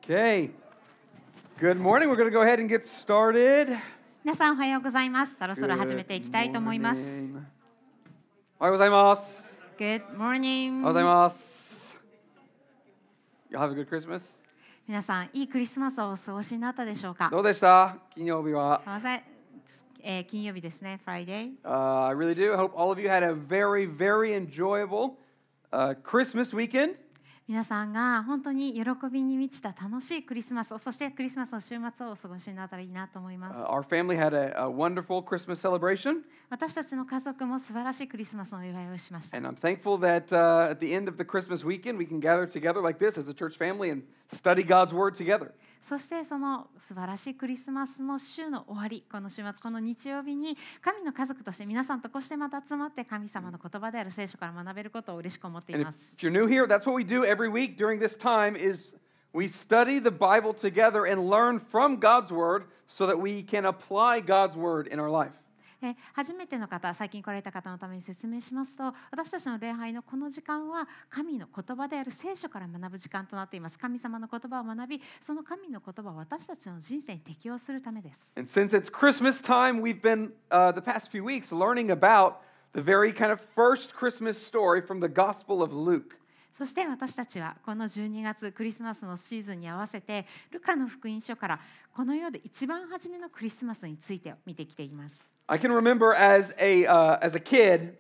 Okay. Good morning. We're going to go ahead and get started. 皆さんおはようございます。そろそろ始めていきたいと思います。 おはようございます。 Good おはよう morning. ございます。You have a good Christmas? 皆さんいいクリスマスをお過ごしになったでしょうか。 どうでした金曜日は。 金曜日ですね、Friday。 I really do. I hope all of you had a very, very enjoyable Christmas weekend. 皆さんが本当に喜びに満ちた楽しいクリスマスを、そしてクリスマスの週末をお過ごしになったらいいなと思います。 Our family had a wonderful Christmas celebration. 私たちの家族も素晴らしいクリスマスのお祝いをしました。 And I'm thankful that at the end of the Christmas weekend we can gather together like this as a church family and study God's Word together. そしてその素晴らしいクリスマスの週の終わり、この週末、この日曜日に神の家族として皆さんとこうしてまた集まって神様の言葉である聖書から学べることを嬉しく思ってい And ます。 if you're new here, that's what we do every week during this time is we study the Bible together and learn from God's Word so that we can apply God's Word in our life. 初めての方、最近来られた方のために説明しますと、私たちの礼拝のこの時間は神の言葉である聖書から学ぶ時間となっています。神様の言葉を学び、その神の言葉を私たちの人生に適用するためです。 And since it's Christmas time, we've been the past few weeks learning about the very kind of first Christmas story from the Gospel of Luke. そして私たちはこの12月クリスマスのシーズンに合わせてルカの福音書からこの世で一番初めのクリスマスについて見てきています。 I can remember as a kid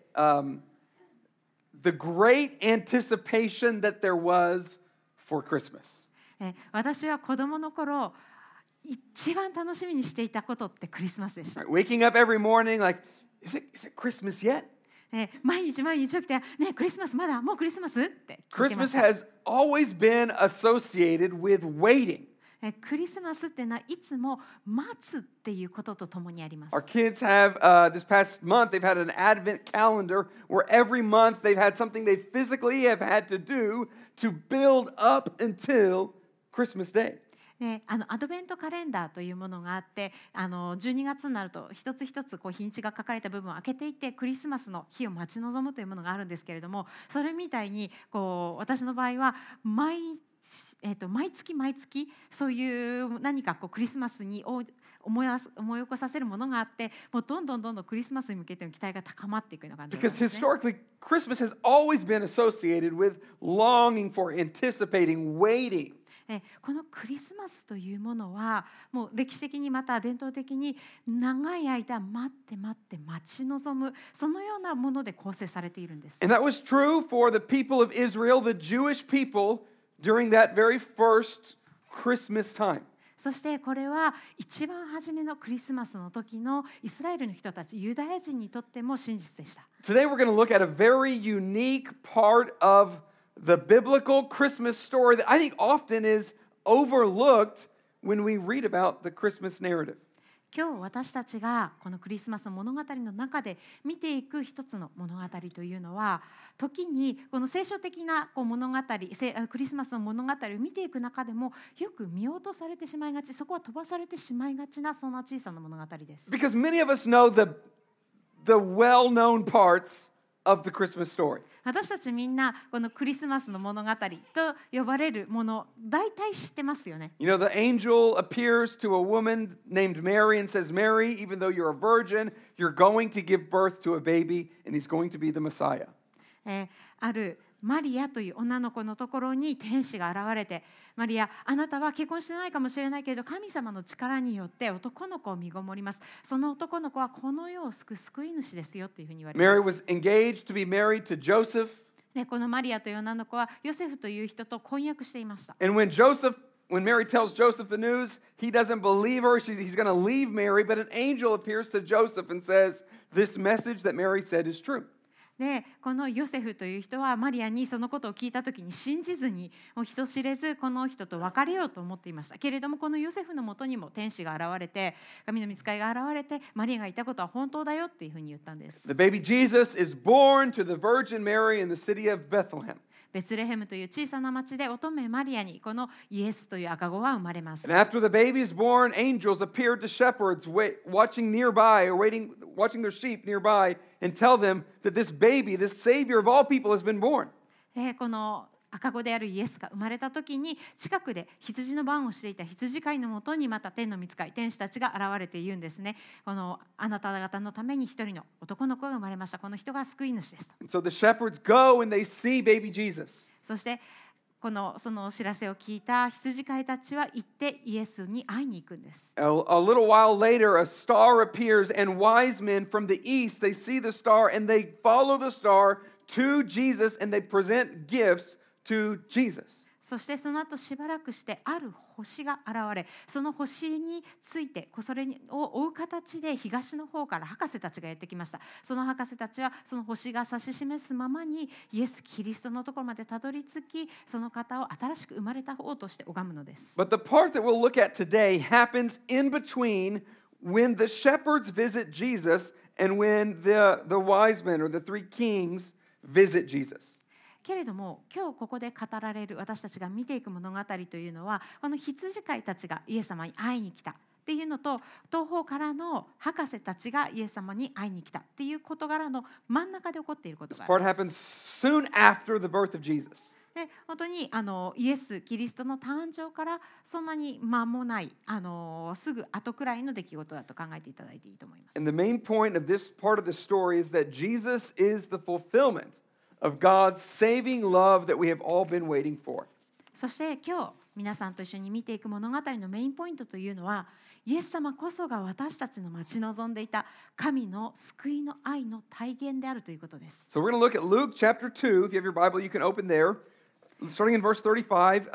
the great anticipation that there was for Christmas. 私は子供の頃一番楽しみにしていたことってクリスマスでした。 Waking up every morning like, is it Christmas yet? 毎日起きて、ね、クリスマスまだもうクリスマスって聞いてま Christmas した。 has always been associated with waiting. クリスマスってのはいつも待つっていうこととともにあります。 Our kids have, this past month, they've had an advent calendar where every month they've had something they physically have had to do to build up until Christmas Day. アドベントカレンダーというものがあって、12月になると一つ一つ日にちが書かれた部分を開けていってクリスマスの日を待ち望むというものがあるんですけれども、それみたいに私の場合は毎月そういう何かクリスマスに思い起こさせるものがあって、もうどんどんクリスマスに向けての期待が高まっていくような感じですね。 Because historically, Christmas has always been associated with longing for, anticipating, waiting. このクリスマスというものはもう歴史的にまた伝統的に長い間待って待ち望むそのようなもので構成されているんです。 And that was true for the people of Israel, the Jewish people, during that very first Christmas time. そしてこれは一番初めのクリスマスの時のイスラエルの人たち、ユダヤ人にとっても真実でした。 Today we're going to look at a very unique part of the biblical Christmas story that I think often is overlooked when we read about the Christmas narrative. 今日私たちがこのクリスマスの物語の中で見ていく一つの物語というのは、時にこの聖書的な物語、クリスマスの物語を見ていく中でもよく見落とされてしまいがち、そこは飛ばされてしまいがちなそんな小さな物語です。 Because many of us know the well-known parts of the Christmas story. 私たちみんなこのクリスマスの物語と呼ばれるもの、大体知ってますよね。 You know, the angel appears to a woman named Mary and says, Mary, even though you're a virgin, you're going to give birth to a baby and he's going to be the Messiah. あるマリアという女の子のところに天使が現れて、マリア、あなたは結婚してないかもしれないけれど神様の力によって男の子を身ごもります。その男の子はこの世を救う救い主ですよというふうに言われます。 Mary was engaged to be married to Joseph. このマリアという女の子はヨセフという人と婚約していました。 And when Mary tells Joseph the news, he doesn't believe her. He's going to leave Mary, but an angel appears to Joseph and says, this message that Mary said is true. でこのヨセフという人はマリアにそのことを聞いたときに信じずにもう人知れずこの人と別れようと思っていましたけれども、このヨセフのもとにも天使が現れて、神の御使いが現れて、マリアが言ったことは本当だよっていうふうに言ったんです。 The baby Jesus is born to the Virgin Mary in the city of Bethlehem. ベツレヘムという小さな町で乙女マリアにこのイエスという赤子は生まれます。 And after the baby is born, angels appeared to shepherds watching nearby or watching their sheep nearby and tell them that this baby, this Savior of all people, has been born. この赤子であるイエスが生まれた時に近くで羊の番をしていた羊飼いのもとにまた天の御使い天使たちが現れて言うんですね。このあなた方のために一人の男の子が生まれました。この人が救い主ですと。 So the shepherds go and they see baby Jesus. そしてそのお知らせを聞いた羊飼いたちは行ってイエスに会いに行くんです。 A little while later, a star appears, and wise men from the east, they see the star and they follow the star to Jesus and they present gifts to Jesus. そしてその後しばらくしてある星が現れ、その星についてそれを追う形で東の方から博士たちがやってきました。その博士たちはその星が指し示すままにイエス・キリストのところまでたどり着き、その方を新しく生まれた方として拝むのです。 But the part that we'll look at today happens in between when the shepherds visit Jesus and when the wise men or the three kings visit Jesus. けれども今日ここで語られる私たちが見ていく物語というのは、この羊飼いたちがイエス様に会いに来たっていうのと、東方からの博士たちがイエス様に会いに来たっていう事柄の真ん中で起こっていることが This あり part ます。 happens soon after the birth of Jesus. で本当にイエス・キリストの誕生からそんなに間もないすぐ後くらいの出来事だと考えていただいていいと思います。 And the main point of this part of the story is that Jesus is the fulfillment of God's saving love that we have all been waiting for. そして今日皆さんと一緒に見ていく物語のメインポイントというのは、イエス様こそが私たちの待ち望んでいた神の救いの愛の体現であるということです。 So we're going to look at Luke chapter 2. If you have your Bible, you can open there. Starting in verse 25,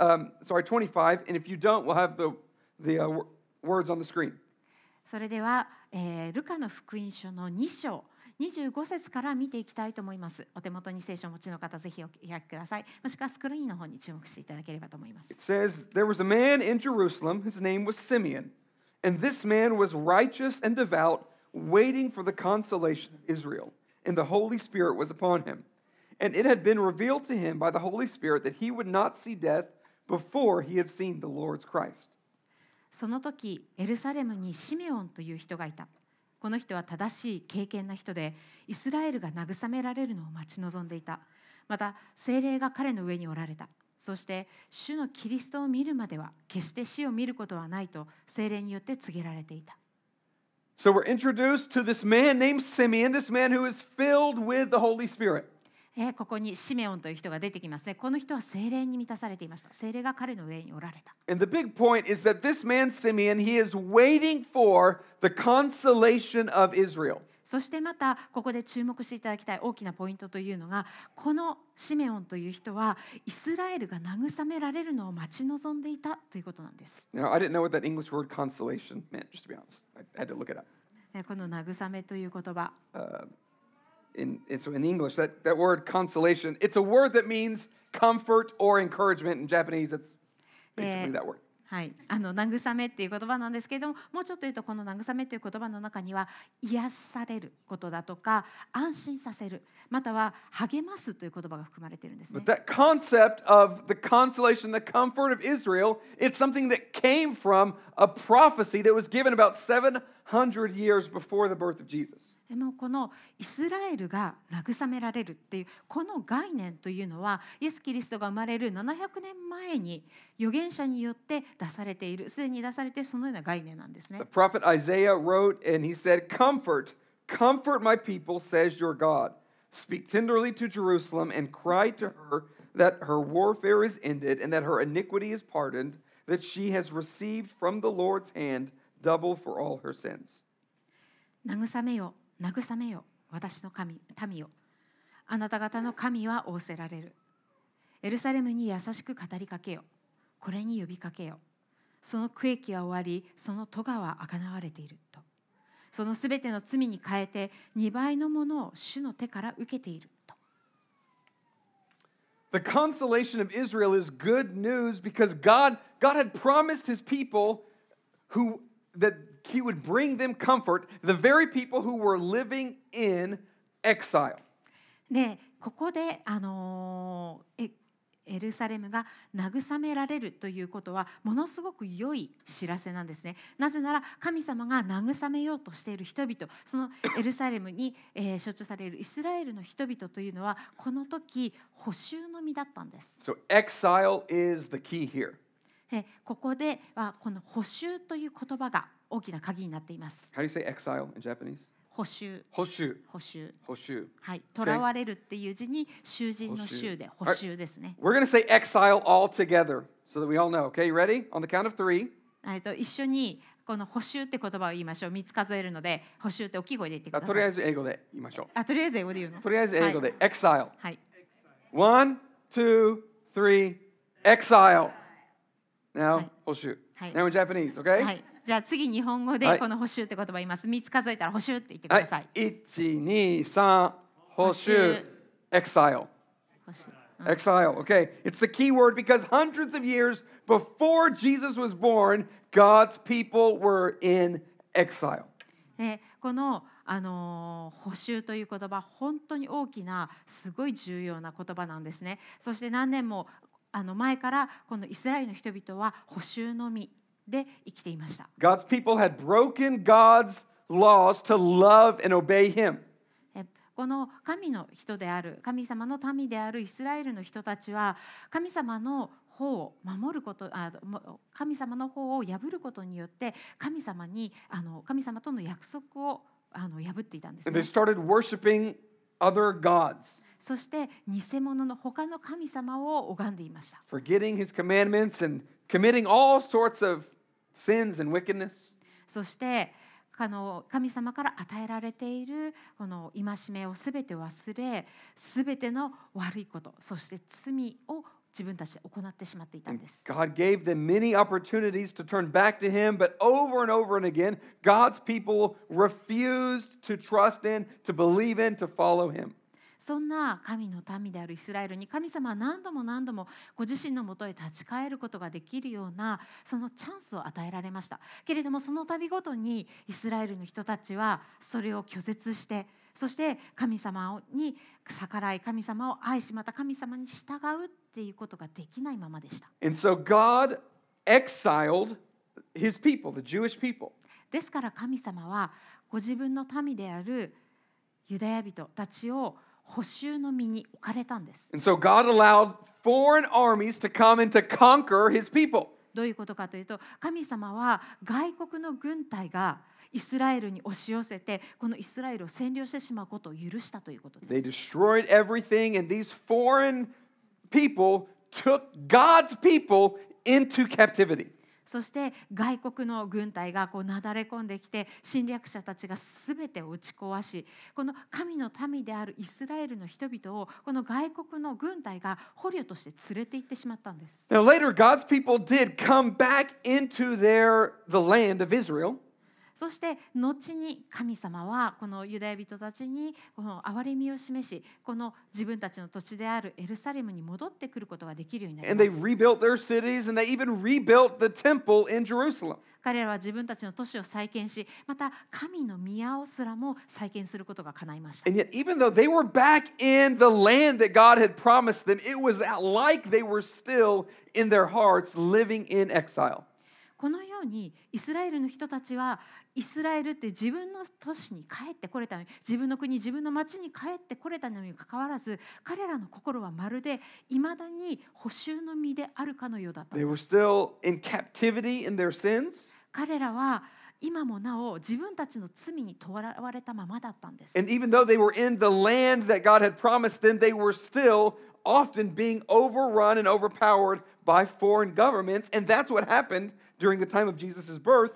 25, and if you don't, we'll have the words on the screen. それでは、ルカの福音書の2章25節から見ていきたいと思います。お手元に聖書をお持ちの方、ぜひお開きください。もしくはスクリーンの方に注目していただければと思います。 It says, There was a man in Jerusalem, his name was Simeon, and this man was righteous and devout, waiting for the consolation of Israel, and the Holy Spirit was upon him. And it had been revealed to him by the Holy Spirit that he would not see death before he had seen the Lord's Christ. その時エルサレムにシメオンという人がいた。この人は正しい敬虔な人で、イスラエルが慰められるのを待ち望んでいた。また聖霊が彼の上におられた。そして主のキリストを見るまでは決して死を見ることはないと聖霊によって告げられていた。 So we're introduced to this man named Simeon, this man who is filled with the Holy Spirit. ここにシメオンという人が出てきますね。この人は聖霊に満たされていました。聖霊が彼の上におられた。 And the big point is that this man, Simeon, he is waiting for the consolation of Israel. そしてまたここで注目していただきたい大きなポイントというのが、このシメオンという人はイスラエルが慰められるのを待ち望んでいたということなんです。 Now, I didn't know what that English word consolation meant, just to be honest. I had to look it up. この慰めという言葉、 In English, that word consolation, it's a word that means comfort or encouragement. In Japanese, it's basically that word. はい、慰めっていう言葉なんですけれども、もうちょっと言うとこの慰めという言葉の中には癒しされることだとか安心させる、または励ますという言葉が含まれているんですね。 But that concept of the consolation, the comfort of Israel, it's something that came from a prophecy that was given about 700 years before the birth of Jesus. でもこのイスラエルが慰められるっていうこの概念というのは、イエス・キリストが生まれる700年前に預言者によって出されている、すでに出されているそのような概念なんですね。 The prophet Isaiah wrote and he said, Comfort, comfort my people, says your God. Speak tenderly to Jerusalem and cry to her that her warfare is ended and that her iniquity is pardoned, that she has received from the Lord's hand double for all her sins. 慰めよ、慰めよ、私の民よ。あなた方の神は仰せられる。エルサレムに優しく語りかけよ。これに呼びかけよ。その区域は終わり、その咎はあがなわれていると。そのすべての罪に変えて2倍のものを主の手から受けていると。 The consolation of Israel is good news because God had promised his people that he would bring them comfort, the very people who were living in exile. で、ここでエルサレムが慰められるということはものすごく良い知らせなんですね。なぜなら神様が慰めようとしている人々、そのエルサレムに象徴されるイスラエルの人々というのはこの時捕囚の身だったんです。 So exile is the key here. ここではこの捕囚という言葉が大きな鍵になっています。 How do you say exile in Japanese? 捕囚。 捕囚。 捕囚。 捕囚。 はい。囚われるっていう字に囚人の囚で捕囚ですね。 We're going to say exile all together so that we all know. Okay, you ready? On the count of 3. 一緒にこの捕囚って言葉を言いましょう。3つ数えるので、捕囚って大きい声で言ってください。 とりあえず英語で言いましょう。 とりあえず英語で言うの。 とりあえず英語で、exile。 はい。 1, 2, 3, exile. Now, 捕囚。Now in Japanese, okay? はい。じゃあ次日本語でこの捕囚って言葉言います。3つ数えたら捕囚って言ってください。 1、2、3、捕囚。exile. Exile, okay. It's the key word because hundreds of years before Jesus was born, God's people were in exile. この捕囚という言葉、本当に大きなすごい重要な言葉なんですね。そして何年も前からこのイスラエルの人々は捕囚の身で生きていました。 God's people had broken God's laws to love and obey him. この神の人である神様の民であるイスラエルの人たちは神様の法を守ること神様の法を破ることによって神様との約束を破っていたんですね。 And they started worshiping other gods. そして偽物の他の神様を拝んでいました。 Forgetting his commandments and committing all sorts of sins and wickedness. そして神様から与えられているこの戒めをすべて忘れ、すべての悪いこと、そして罪を自分たちで行ってしまっていたんです。 God gave them many opportunities to turn back to him, but over and over and again, God's people refused to trust in, to believe in, to follow him. そんな神の民であるイスラエルに神様は何度も何度もご自身のもとへ立ち返ることができるようなそのチャンスを与えられました。けれどもその度ごとにイスラエルの人たちはそれを拒絶して、そして神様に逆らい、神様を愛し、また神様に従うっていうことができないままでした。 And so God exiled his people, the Jewish people. ですから神様はご自分の民であるユダヤ人たちを捕囚の身に置かれたんです。 And so God allowed foreign armies to come and to conquer his people. どういうことかというと、神様は外国の軍隊がイスラエルに押し寄せて、このイスラエルを占領してしまうことを許したということです。 They destroyed everything, and these foreign people took God's people into captivity. そして外国の軍隊がなだれ込んできて侵略者たちがすべてを打ち壊し、この神の民であるイスラエルの人々をこの外国の軍隊が捕虜として連れて行ってしまったんです。 Now later, God's people did come back into the land of Israel. そして後に神様はこのユダヤ人たちにこの憐れみを示し、この自分たちの土地であるエルサレムに戻ってくることができるようになり And ま they す。 rebuilt their cities, and they even rebuilt the temple in Jerusalem. 彼らは自分たちの都市を再建し、また神の宮をすらも再建することが叶いました。 And yet, even though they were back in the land that God had promised them, it was like they were still in their hearts living in exile. このようにイスラエルの人たちはイスラエルって自分の都市に帰ってこれたのに、自分の国、自分の町に帰ってこれたのにかかわらず、彼らの心はまるでいまだに捕囚の身であるかのようだったん They で were す。 still in captivity in their sins. 彼らは今もなお自分たちの罪にとらわれたままだったんです。 And even though they were in the land that God had promised them, they were still often being overrun and overpowered by foreign governments. And that's what happened during the time of Jesus' birth.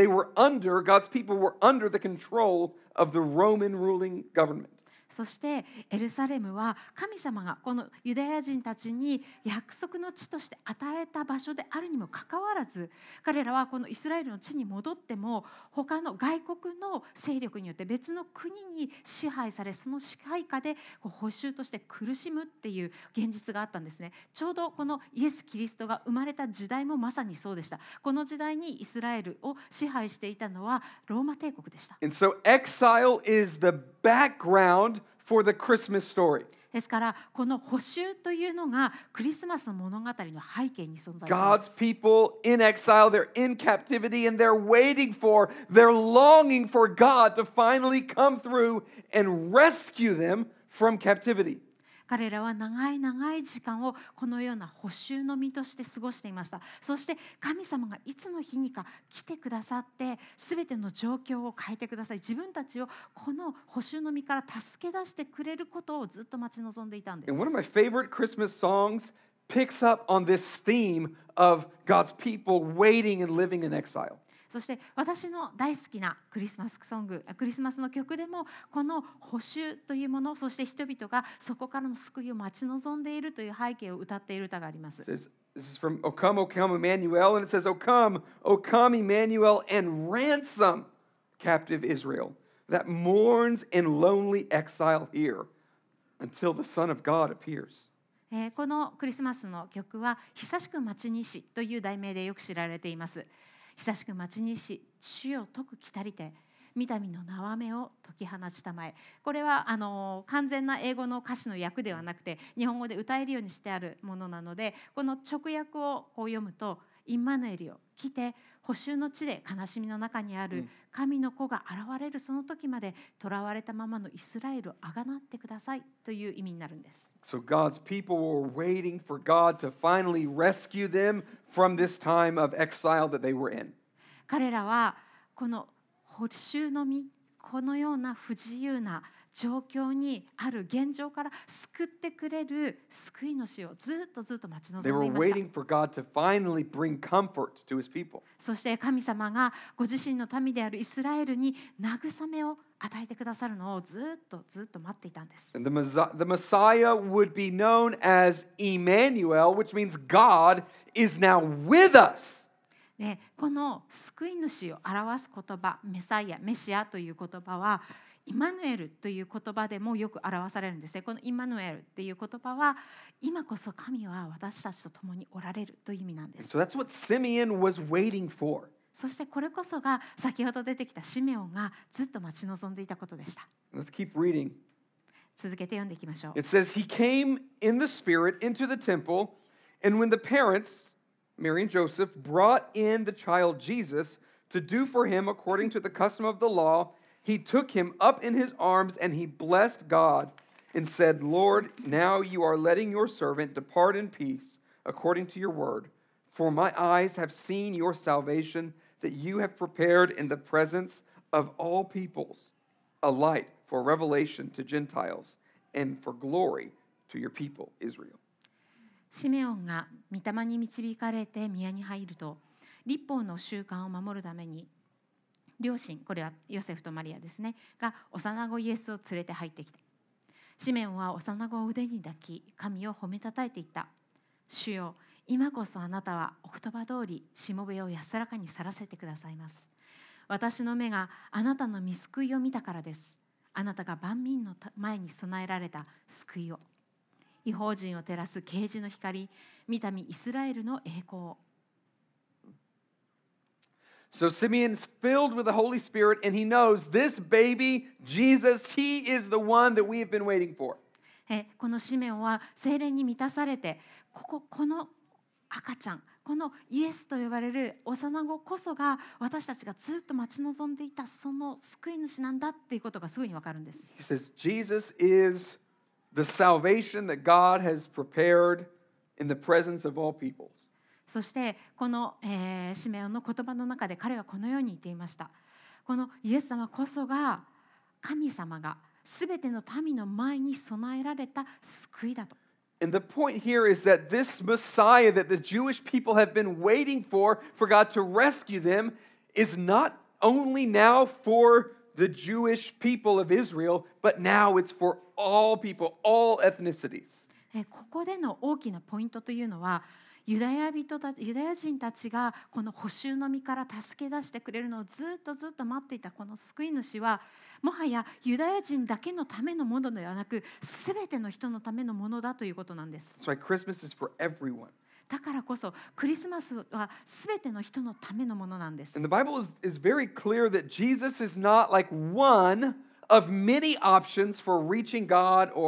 God's people were under the control of the Roman ruling government. そしてエルサレムは神様がこのユダヤ人たちに約束の地として与えた場所であるにもかかわらず、彼らはこのイスラエルの地に戻っても他の外国の勢力によって別の国に支配され、その支配下で捕囚として苦しむっていう現実があったんですね。ちょうどこのイエス・キリストが生まれた時代もまさにそうでした。この時代にイスラエルを支配していたのはローマ帝国でした。 And so exile is the background for the Christmas story. ですからこの補修というのがクリスマスの物語の背景に存在しま God's す。 people in exile, they're in captivity, and they're waiting for, they're longing for God to finally come through and rescue them from captivity. 彼らは長い長い時間をこのような補修の身として過ごしていました。そして神様がいつの日にか来てくださって全ての状況を変えてください、自分たちをこの補修の身から助け出してくれることをずっと待ち望んでいたんです。 And one of my favorite Christmas songs picks up on this theme of God's people waiting and living in exile. そして私の大好きなクリスマスソング、クリスマスの曲でもこの補修というもの、そして人々がそこからの救いを待ち望んでいるという背景を歌っている歌があります。 It says, this is from O come, Emmanuel, and it says, O come, Emmanuel, and ransom captive Israel that mourns in lonely exile here until the Son of God appears. このクリスマスの曲は久しく待ちにしという題名でよく知られています。久しく待ちにし、主を解く来たりて、御民の縄目を解き放ちたまえ。これは完全な英語の歌詞の訳ではなくて日本語で歌えるようにしてあるものなので、この直訳をこう読むと、インマヌエルよ来て補修の地で悲しみの中にある神の子が現れるその時まで囚われたままのイスラエルをあがなってくださいという意味になるんです。 So God's people were waiting for God to finally rescue them from this time of exile that they were in. 彼らはこの補修の身、このような不自由な状況にある現状から救ってくれる救い主をずっと待ち望 They んで were いました。 waiting for God to finally bring comfort to his people. そして神様がご自身の民であるイスラエルに慰めを与えてくださるのをずっと待っていたんです。 And the Messiah would be known as Emmanuel, which means God is now with us. でこの救い主を表す言葉、メサイア、メシアという言葉はイマヌエルという言葉でもよく表されるんですね。このイマヌエルっていう言葉は今こそ神は私たちと共におられるという意味なんです。 So that's what Simeon was waiting for. そしてこれこそが先ほど出てきたシメオンがずっと待ち望んでいたことでした。 Let's keep reading. 続けて読んでいきましょう。 It says, He came in the Spirit into the temple, and when the parents, Mary and Joseph, brought in the child Jesus to do for him according to the custom of the law, he took him up in his arms and he blessed God and said, Lord, now you are letting your servant depart in peace according to your word. For my eyes have seen your salvation that you have prepared in the presence of all peoples, a light for revelation to Gentiles and for glory to your people, Israel. シメオンが御霊に導かれて宮に入ると、律法の習慣を守るために両親、これはヨセフとマリアですね、が幼子イエスを連れて入ってきた。シメオンは幼子を腕に抱き、神を褒めたたえていった。主よ、今こそあなたはお言葉通りしもべを安らかに去らせてくださいます。私の目があなたの御救いを見たからです。あなたが万民の前に備えられた救いを、異邦人を照らす啓示の光、御民イスラエルの栄光を。 So Simeon's filled with the Holy Spirit, and he knows this baby, Jesus, he is the one that we have been waiting for. このシメオンは聖霊に満たされて、この赤ちゃん、このイエスと呼ばれる幼子こそが私たちがずっと待ち望んでいたその救い主なんだっていうことがすぐにわかるんです。 He says, Jesus is the salvation that God has prepared in the presence of all peoples. そしてこの、シメオンの言葉の中で彼はこのように言っていました。このイエス様こそが神様がすべての民の前に備えられた救いだと。 And the point here is that this Messiah that the Jewish people have been waiting for God to rescue them, is not only now for the Jewish people of Israel, but now it's for all people, all ethnicities. ここでの大きなポイントというのは、ユダヤ人たちがこの補修の身から助け出してくれるのをずっと待っていたこの救い主は、もはやユダヤ人だけのためのものではなく、すべての人のためのものだということなんです。 That's why Christmas is for everyone. だからこそクリスマスはすべての人のためのものなんです。 And the Bible is very clear that Jesus is not like one of many options for reaching God or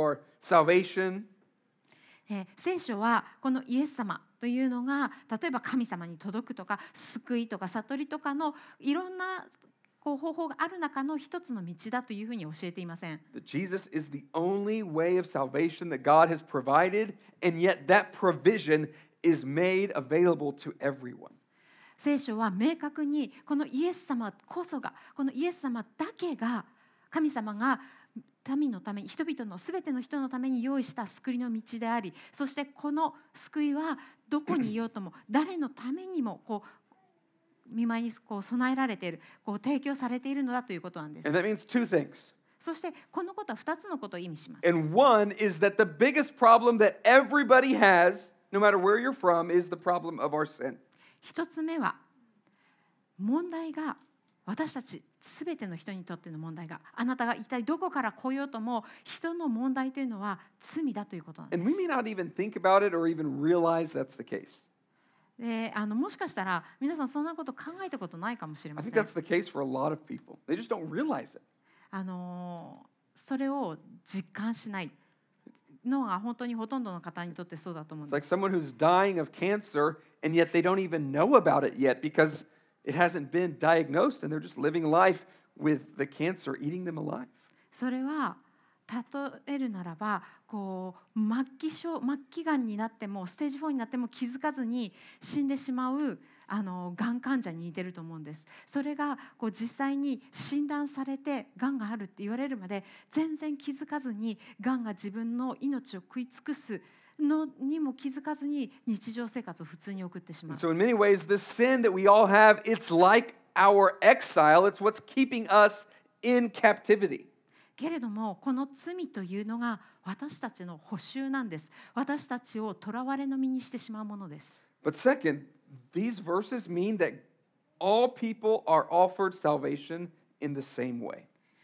salvation. 聖書はこのイエス様というのが例えば神様に届くとか救いとか悟りとかのいろんな方法がある中の一つの道だというふうに教えていません。 That Jesus is the only way of salvation that God has provided, and yet that provision is made available to everyone. 聖書は明確にこのイエス様こそがこのイエス様だけが神様が民のために人々のすべての人のために用意した救いの道であり、そしてこの救いはどこにいようとも誰のためにも見舞いに備えられている提供されているのだということなんです。 And that means two things. そしてこのことは2つのことを意味します。 And one is that the biggest problem that everybody has, no matter where you're from, is the problem of our sin. 1つ目は問題が私たちすべての人にとっての問題があなたが一体どこから来ようとも人の問題というのは罪だということなんです。 And we may not even think about it or even realize that's the case. でもしかしたら皆さんそんなこと考えたことないかもしれま I せ think ん。 that's the case for a lot of people. They just don't realize it. それを実感しないのが本当にほとんどの方にとってそうだと思うん It's で like す。 someone who's dying of cancer, and yet they don't even know about it yet because it hasn't been diagnosed, and they're just living life with the cancer eating them alive. それは例えるならば末期がんになってもステージ4になっても気づかずに死んでしまうがん患者に似てると思うんです。それが実際に診断されてがんがあるって言われるまで全然気づかずにがんが自分の命を食い尽くすのにも気づかずに日常生活を普通に送ってしま And う。 so in many ways, this sin that we all have, it's like our exile. It's what's keeping us in captivity. けれどもこの罪というのが私たちの補修なんです。私たちを囚われの身にしてしまうものです。 But second, these verses mean that all people are offered salvation in the same way.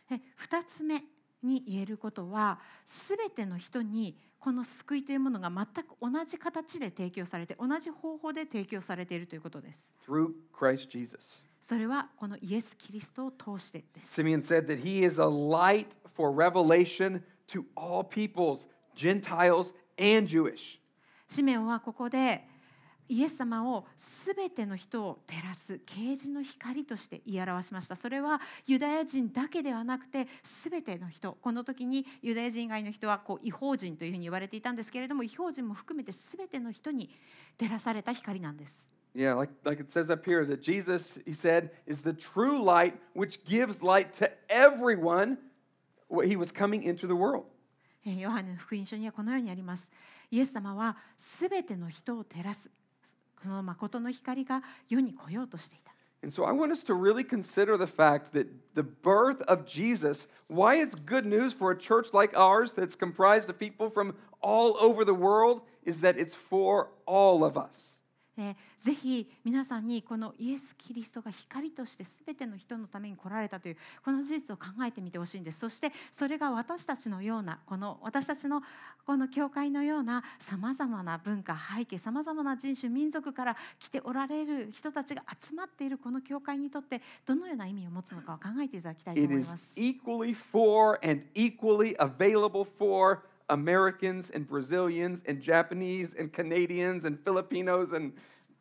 2つ目に言えることはすべての人にこの救いというものが全く同じ形で提供されて同じ方法で提供されているということです。 Through Christ Jesus. それはこのイエス・キリストを通してです。 Simeon said that he is a light for revelation to all peoples, Gentiles and Jewish. シメオンはここでイエス様をすべての人を照らす啓示の光として言い表しました。それはユダヤ人だけではなくてすべての人、この時にユダヤ人以外の人は異邦人というふうに言われていたんですけれども、異邦人も含めてすべての人に照らされた光なんです。 Yeah, like it says up here that Jesus, he said, is the true light which gives light to everyone. He was coming into the world. ヨハネの福音書にはこのようにあります。イエス様はすべての人を照らす。この誠の光が世に来ようとしていた。 And so I want us to really consider the fact that the birth of Jesus, why it's good news for a church like ours that's comprised of people from all over the world, is that it's for all of us. ぜひ皆さんにこのイエス・キリストが光としてすべての人のために来られたというこの事実を考えてみてほしいんです。そしてそれが私たちのような私たちのこの教会のようなさまざまな文化背景さまざまな人種民族から来ておられる人たちが集まっているこの教会にとってどのような意味を持つのかを考えていただきたいと It 思い is ます。 equally for and equally available for Americans and Brazilians and Japanese and Canadians and Filipinos and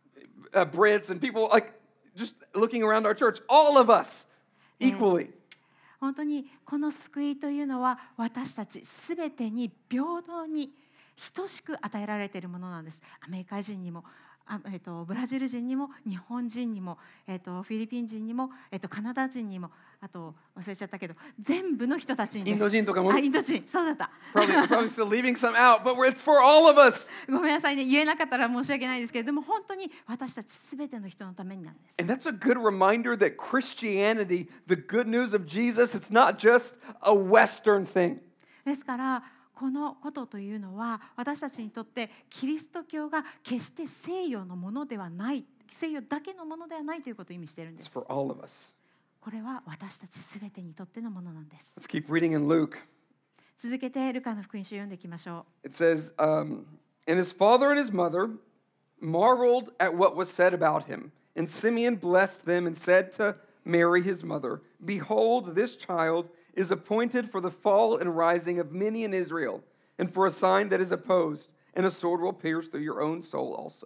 Brits and people like just looking around our church, all of us equally. 本当にこの救いというのは私たちすべてに平等に等しく与えられているものなんです。アメリカ人にもブラジル人にも日本人にも、フィリピン人にも、カナダ人にもあと忘れちゃったけど全部の人たちにです。 インド人とかも。 インド人そうだった。 Probably still leaving some out, but it's for all of us. ごめんなさいね言えなかったら申し訳ないですけれども本当に私たちすべての人のためになんです。 And that's a good reminder that Christianity, the good news of Jesus, it's not just a Western thing. ですからこのことというのは私たちにとってキリスト教が決して西洋のものではない西洋だけのものではないということを意味しているんで It's す。 for all of us. これは私たちすべてにとってのものなんです。 Let's keep reading in Luke. 続けてルカの福音書を読んでいきましょう。 It says, and his father and his mother marveled at what was said about him. And Simeon blessed them and said to Mary, his mother, Behold, this child is appointed for the fall and rising of many in Israel, and for a sign that is opposed, and a sword will pierce through your own soul also,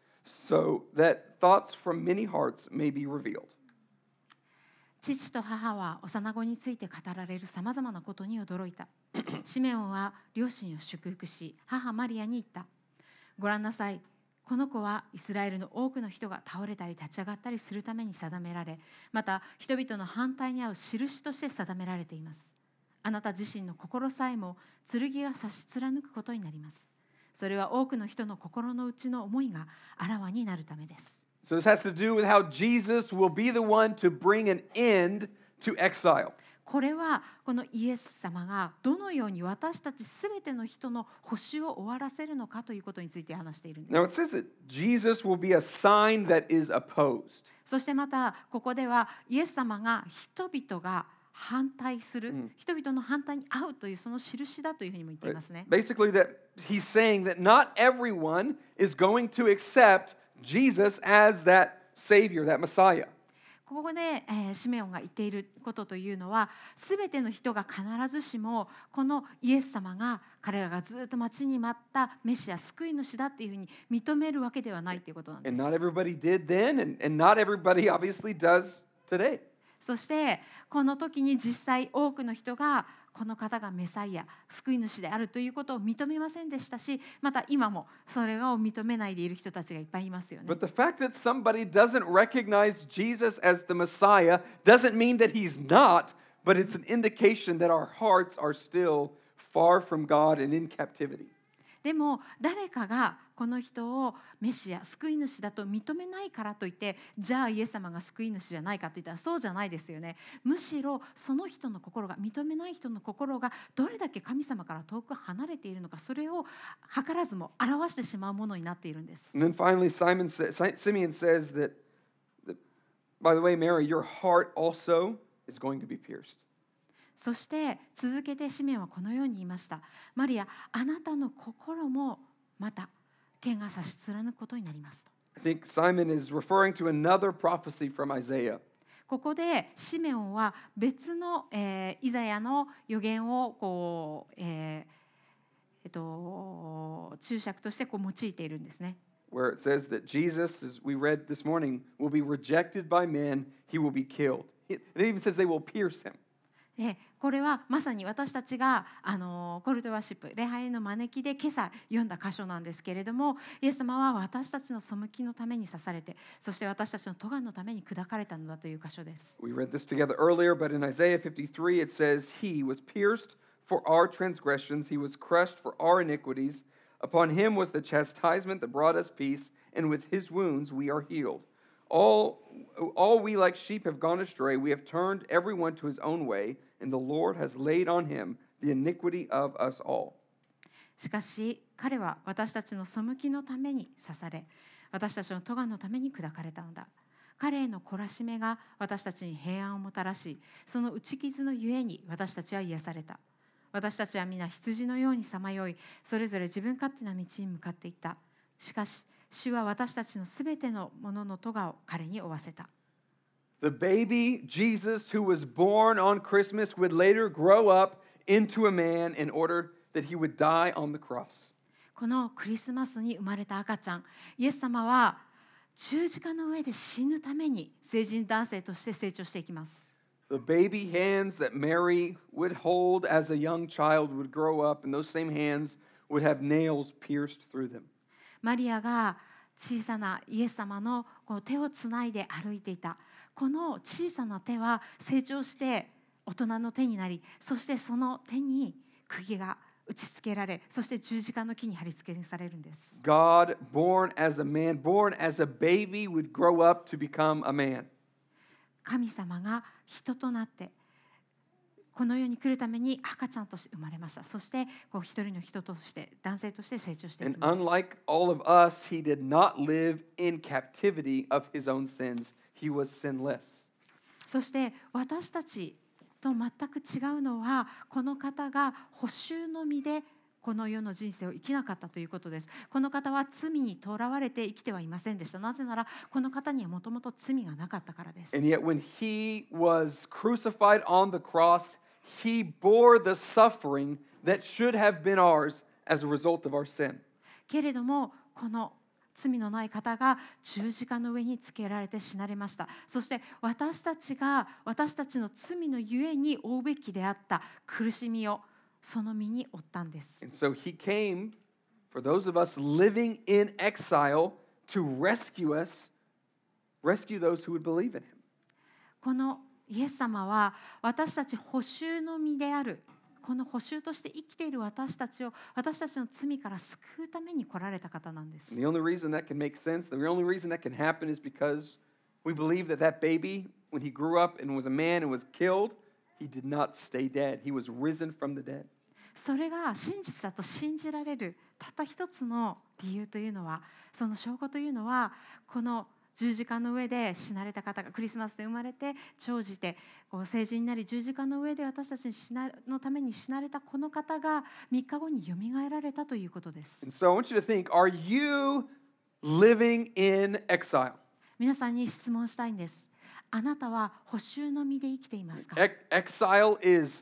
so that thoughts from many hearts may be revealed. 父と母は幼子について語られるさまざまなことに驚いた。シメオンは両親を祝福し、母マリアに言った。ご覧なさい。この子はイスラエルの多くの人が倒れたり立ち上がったりするために定められ、また人々の反対に遭う印として定められています。あなた自身の心さえも剣が差し貫くことになります。それは多くの人の心の内の思いがあらわになるためです。 So this has to do with how Jesus will be the one to bring an end to exile. これはこのイエス様がどのように私たちすべての人の補修を終わらせるのかということについて話しているんです。 Now it says that Jesus will be a sign that is opposed. そしてまたここではイエス様が人々が反対する、人々の反対に合うというその印だというふうにも言っていますね。 Basically that he's saying that not everyone is going to accept Jesus as that Savior, that Messiah. ここで、シメオンが言っていることというのは、すべての人が必ずしもこのイエス様が彼らがずっと待ちに待ったメシア、救い主だっていうふうに認めるわけではないということなんです。 And not everybody did then, and not everybody obviously does today. そしてこの時に実際多くの人がこの方がメサイア、救い主であるということを認めませんでしたし、また今もそれを認めないでいる人たちがいっぱいいますよね。 But the fact that somebody doesn't recognize Jesus as the Messiah doesn't mean that he's not, but it's an indication that our hearts are still far from God and in captivity. でも誰かがこの人をメシア、救い主だと認めないからといって、じゃあイエス様が救い主じゃないかって言ったらそうじゃないですよね。むしろその人の心が、認めない人の心がどれだけ神様から遠く離れているのか、それを図らずも表してしまうものになっているんです。 And then finally Simeon says that, by the way, Mary, your heart also is going to be pierced. そして続けてシメオンはこのように言いました。マリア、あなたの心もまた剣が差し貫くことになりますと。 I think Simon is referring to another prophecy from Isaiah. ここでシメオンは別の、イザヤの予言をこう、注釈としてこう用いているんですね。 Where it says that Jesus, as we read this morning, will be rejected by men, he will be killed. It even says they will pierce him. でこれはまさに私たちがコルトワーシップ、礼拝への招きで今朝読んだ箇所なんですけれども、イエス様は私たちの背きのために刺されて、そして私たちの咎のために砕かれたのだという箇所です。 We read this together earlier, but in Isaiah 53 it says, He was pierced for our transgressions, he was crushed for our iniquities. Upon him was the chastisement that brought us peace, and with his wounds we are healed. All we like sheep have gone astray, we have turned everyone to his own way, and the Lord has laid on him the iniquity of us all. しかし彼は私たちの背きのために刺され、私たちの咎のために砕かれたのだ。彼への懲らしめが私たちに平安をもたらし、その打ち傷のゆえに私たちは癒された。私たちは皆羊のようにさまよい、それぞれ自分勝手な道に向かっていった。しかし主は私たちのすべてのものの咎を彼に負わせた。 The baby Jesus who was born on Christmas would later grow up into a man in order that he would die on the cross. このクリスマスに生まれた赤ちゃん、イエス様は十字架の上で死ぬために成人男性として成長していきます。 The baby hands that Mary would hold as a young child would grow up, and those same hands would have nails pierced through them. マリアが小さなイエス様のこう手をつないで歩いていた。この小さな手は成長して大人の手になり、そしてその手に釘が打ち付けられ、そして十字架の木に貼り付けされるんです。 God, born as a man, born as a baby, would grow up to become a man. 神様が人となってこの世に来るために赤ちゃんとして生まれました。そしてこう一人の人として、男性として成長していき And ます。 unlike all of us, he did not live in captivity of his own sins. He was sinless. そして私たちと全く違うのは、この方が補修の身でこの世の人生を生きなかったということです。この方は罪にとらわれて生きてはいませんでした。なぜならこの方にはもともと罪がなかったからです。 And yet when he was crucified on the cross, he bore the suffering that should have been ours as a result of our sin. けれどもこの罪のない方が十字架の上につけられて死なれました。そして私たちが私たちの罪のゆえに負うべきであった苦しみをその身に負ったんです。 And so he came for those of us living in exile to rescue us, rescue those who would believe in him. このイエス様は私たち捕囚の身であるこの捕囚として生きている私たちを私たちの罪から救うために来られた方なんです。 And the only reason that can make sense, the only reason that can happen is because we believe that that baby, when he grew up and was a man and was killed, he did not stay dead. He was risen from the dead. それが真実だと信じられるたった一つの理由というのは、その証拠というのは、この十字架の上で死なれた方がクリスマスで生まれて長じて成人になり十字架の上で私たちのために死なれたこの方が3日後によみがえられたということです。 And so I want you to think, are you living in exile? 皆さんに質問したいんです。あなたは捕囚の身で生きていますか？ Exile is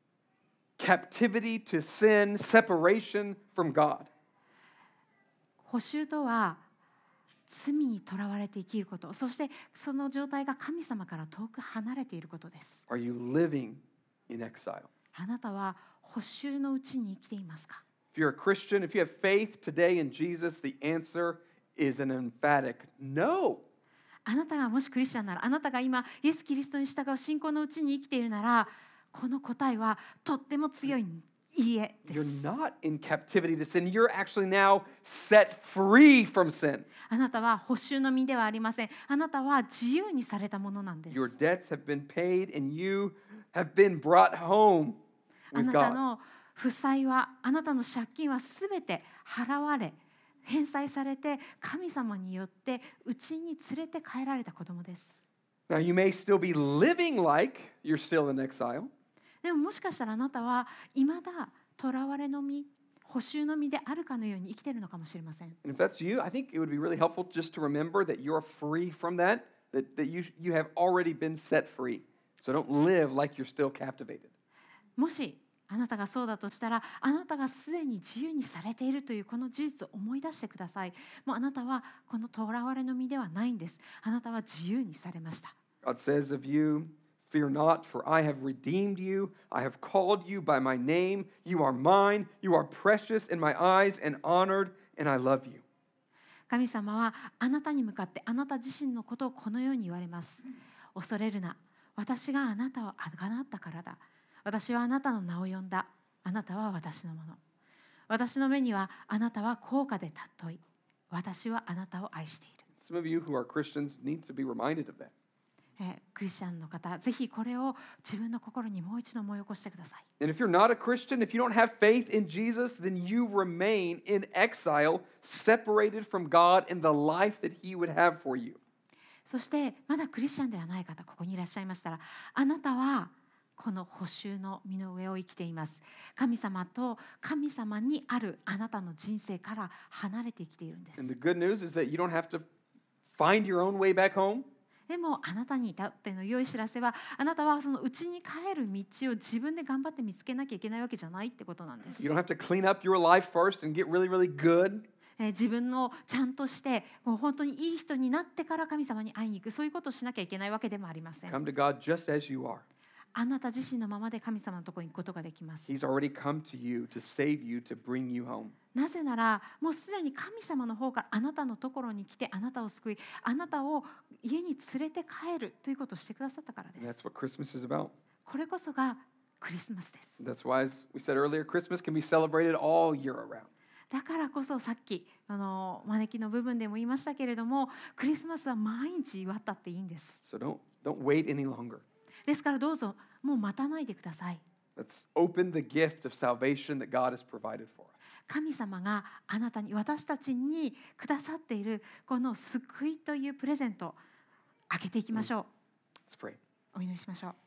captivity to sin, separation from God. 捕囚とは罪にとらわれて生きること、そしてその状態が神様から遠く離れていることです。 Are you living in exile? あなたは捕囚のうちに生きていますか？ If you're a Christian, if you have faith today in Jesus, the answer is an emphatic no. あなたがもしクリスチャンなら、あなたが今イエス・キリストに従う信仰のうちに生きているなら、この答えはとっても強いいいえで You're す。 not in captivity to sin. You're actually now set free from sin. あなたは捕囚の身ではありません。あなたは自由にされたものなんです。 Your debts have been paid and you have been brought home あ with なた God. の負債は、あなたの借金はすべて払われ、返済されて神様によって家に連れて帰られた子供です。 Now, you may still be living like you're still in exile. でももしかしたらあなたは未だ囚われの身、捕囚の身であるかのように生きているのかもしれません。 And if that's you, I think it would be really helpful just to remember that you're free from that, that you have already been set free. So don't live like you're still captivated. もしあなたがそうだとしたら、あなたがすでに自由にされているというこの事実を思い出してください。もうあなたはこの囚われの身ではないんです。あなたは自由にされました。 God says of you, fear not, for I have redeemed you. I have called you by my name. You are mine. You are precious in my eyes and honored, and I love you. 神様はあなたに向かってあなた自身のことをこのように言われます。恐れるな。私があなたをあがなったからだ。私はあなたの名を呼んだ。あなたは私のもの。私の目にはあなたは高価で尊い。私はあなたを愛している。 Some of you who are Christians need to be reminded of that. クリスチャンの方、ぜひこれを自分の心にもう一度思い起こしてください。 And if you're not a Christian, if you don't have faith in Jesus, then you remain in exile, separated from God and the life that He would have for you. そしてまだクリスチャンではない方、ここにいらっしゃいましたら、あなたはこの捕囚の身の上を生きています。神様と神様にあるあなたの人生から離れて生きているんです。 And the good news is that you don't have to find your own way back home. でもあなたに至っての良い知らせは、あなたはその家に帰る道を自分で頑張って見つけなきゃいけないわけじゃないってことなんです。 You don't have to clean up your life first and get really, really good. 自分のちゃんとしてもう本当にいい人になってから神様に会いに行く、そういうことをしなきゃいけないわけでもありません。 Come to God just as you are. あなた自身のままで神様のところに行くことができます。 He's already come to you to save you, to bring you home. なぜならもうすでに神様の方からあなたのところに来てあなたを救い、あなたを家に連れて帰るということをしてくださったからで And す。 that's what Christmas is about. これこそがクリスマスです。 That's why, as we said earlier, Christmas can be celebrated all year around. だからこそさっき招きの部分でも言いましたけれども、クリスマスは毎日祝ったっていいんです。 So don't wait any longer. ですからどうぞもう待たないでください。 Let's open the gift of salvation that God has provided for us. 神様があなたに、私たちにくださっているこの救いというプレゼントを開けていきましょう。 Let's pray. お祈りしましょう。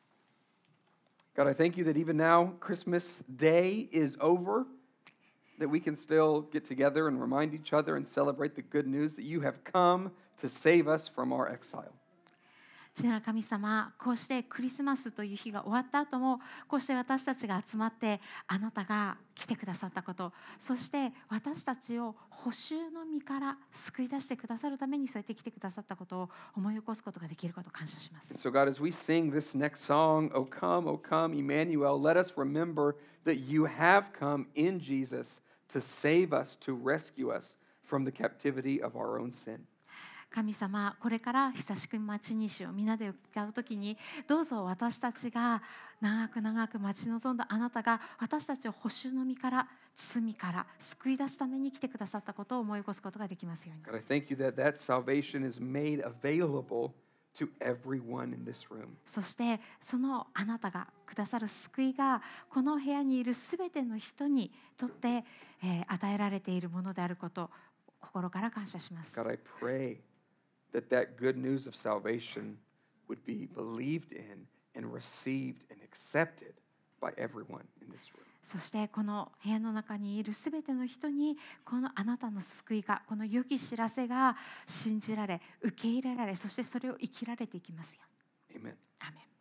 God, I thank you that even now Christmas Day is over, that we can still get together and remind each other and celebrate the good news that you have come to save us from our exile. 父なる神様、こうしてクリスマスという日が終わった後もこうして私たちが集まってあなたが来てくださったこと、そして私たちを捕囚の身から救い出してくださるためにそうやって来てくださったことを思い起こすことができることを感謝しま And す。 so, God, as we sing this next song, O come, Emmanuel, let us remember that you have come in Jesus to save us, to rescue us from the captivity of our own sin. 神様、これから久しく待ちにしを皆で歌うときに、どうぞ私たちが長く長く待ち望んだあなたが私たちを捕囚の身から罪から救い出すために来てくださったことを思い起こすことができますように。 God, I thank you that that salvation is made available to everyone in this room. そしてそのあなたがくださる救いがこの部屋にいるすべての人にとって、与えられているものであることを心から感謝します。 God, I pray that that good news of salvation would be believed in and received and accepted by everyone in this room. そしてこの部屋の中にいるすべての人にこのあなたの救いが、この良き知らせが信じられ、受け入れられ、そしてそれを生きられていきますように。 Amen. アーメン。